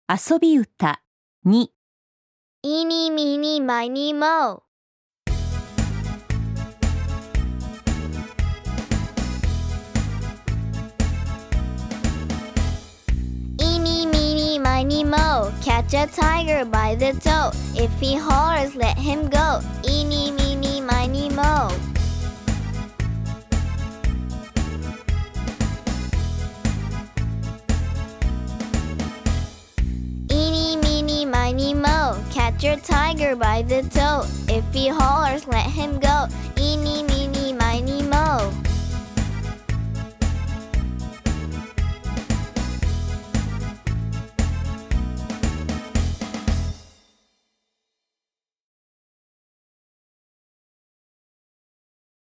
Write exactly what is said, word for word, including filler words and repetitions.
遊び歌に Eeny, meeny, miny, mo. Eeny, meeny, miny, mo. Catch a tiger by the toe. If he hollers, let him go. Eeny, meeny, miny, mo. Eeny, meeny, miny, mo. Catch your tiger by the toe. If he hollers, let him go. Eeny, meeny,